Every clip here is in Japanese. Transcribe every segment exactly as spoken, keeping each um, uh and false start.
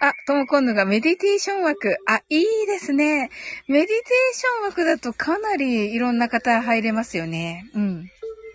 あ、ともこんぬがメディテーション枠。あ、いいですね。メディテーション枠だとかなりいろんな方入れますよね。うん。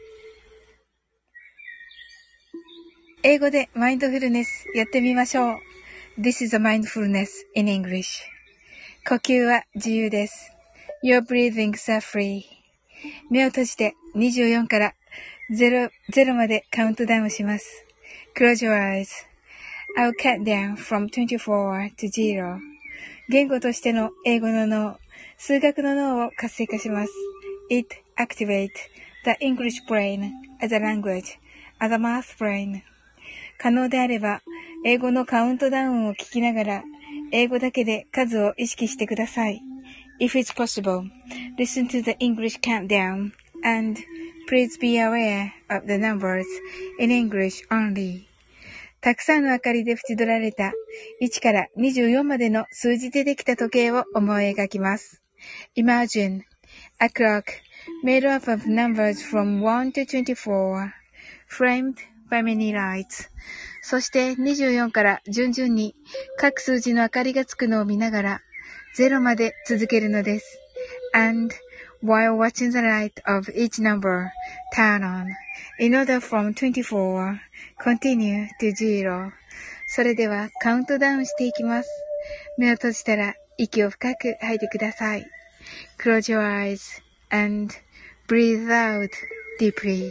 英語でマインドフルネスやってみましょう。This is a mindfulness in English. 呼吸は自由です。Your breathings are free. 目を閉じてにじゅうよんからゼロ、ゼロまでカウントダウンします。Close your eyes.I'll count down from twenty-four to zero. 言語としての英語の脳、数学の脳を活性化します。It activates the English brain as a language, as a math brain. 可能であれば、英語のカウントダウンを聞きながら、英語だけで数を意識してください。If it's possible, listen to the English countdown and please be aware of the numbers in English only.たくさんの明かりで縁取られたいちからにじゅうよんまでの数字でできた時計を思い描きます。Imagine a clock made up of numbers from one to twenty-four, framed by many lights. そしてにじゅうよんから順々に各数字の明かりがつくのを見ながらゼロまで続けるのです。And while watching the light of each number turn on, in order from twenty-four, continue to zero. それではカウントダウンしていきます。目を閉じたら息を深く吐いてください。Close your eyes and breathe out deeply.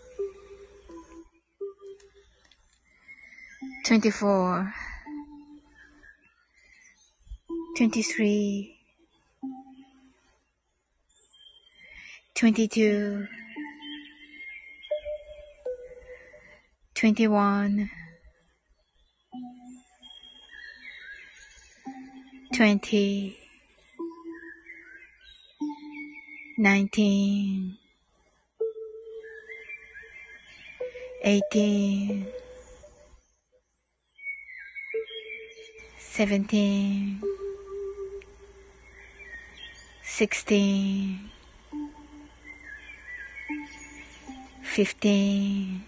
twenty-four, twenty-three,Twenty-two, twenty-one, twenty, nineteen, eighteen, seventeen, sixteen,Fifteen,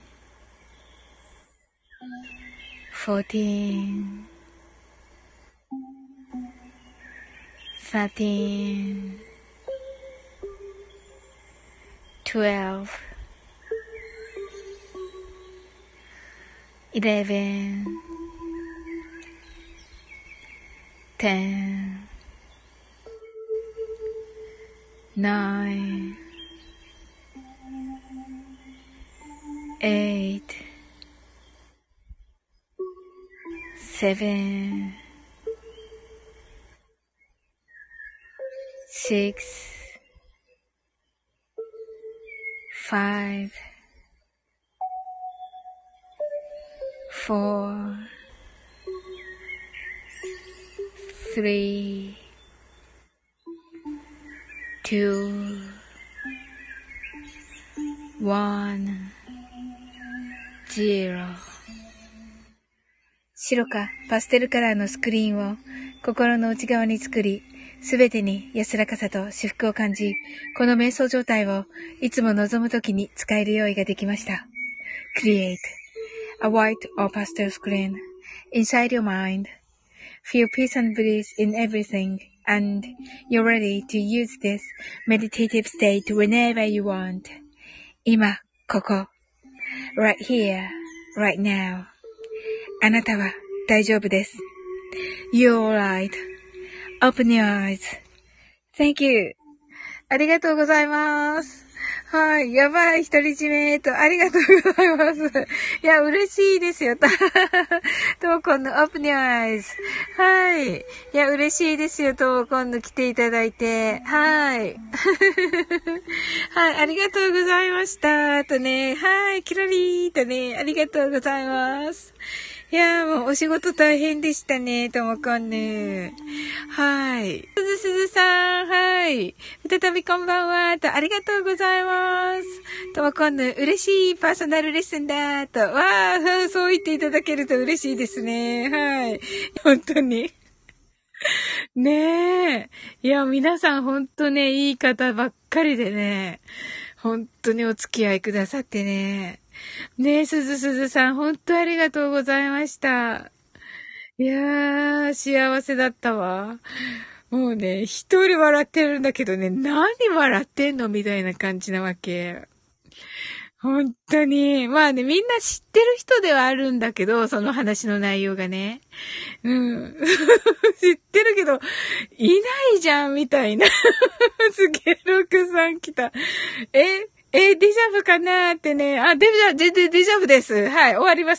fourteen, thirteen, twelve, eleven, ten, nine,Eight, seven, six, five, four, three, two, one.ゼロ。白かパステルカラーのスクリーンを心の内側に作り、すべてに安らかさと至福を感じ、この瞑想状態をいつも望むときに使える用意ができました。Create a white or pastel screen inside your mind. Feel peace and bliss in everything, and you're ready to use this meditative state whenever you want. 今、ここ。Right here, right now. あなたは大丈夫です。You're alright. Open your eyes. Thank you. ありがとうございます。はい。やばい。独り占めと、ありがとうございます。いや、嬉しいですよ。ともこんの Open Your Eyes。はい。いや、嬉しいですよ。ともこんの来ていただいて。はい。はい。ありがとうございました。とね。はい。キラリーとね。ありがとうございます。いやーもうお仕事大変でしたね、ともこんぬ。はい。すずすずさん、はい。再びこんばんは、と、ありがとうございます。ともこんぬ、嬉しいパーソナルレッスンだ、と、わー、そう言っていただけると嬉しいですね。はい。本当に。ねえ。いや、皆さん本当ね、いい方ばっかりでね、本当にお付き合いくださってね。ねえ、すずすずさん、本当ありがとうございました。 いやー、幸せだったわ。もうね、一人笑ってるんだけどね、何笑ってんのみたいな感じなわけ。本当に。まあね、みんな知ってる人ではあるんだけど、その話の内容がね。うん。知ってるけど、いないじゃん、みたいな。すげえ、ロクさん来た。ええ、デジャブかなーってね。あ、デジャブ、デ、デデジャブです。はい、終わります。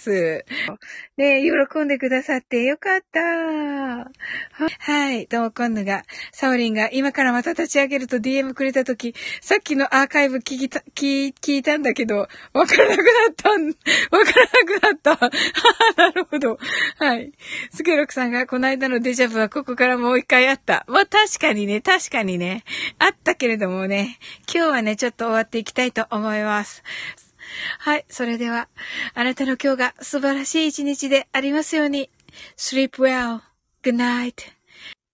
ね、喜んでくださってよかった。はい、ともこんぬが、サオリンが今からまた立ち上げると ディーエム くれたとき、さっきのアーカイブ聞きた、聞、聞いたんだけど、わからなくなったん、わからなくなった。なるほど。はい。スケロクさんが、この間のデジャブはここからもう一回あった。まあ、確かにね、確かにね、あったけれどもね、今日はね、ちょっと終わっていきたいと思います。はい。それでは、あなたの今日が素晴らしい一日でありますように。Sleep well. Good night.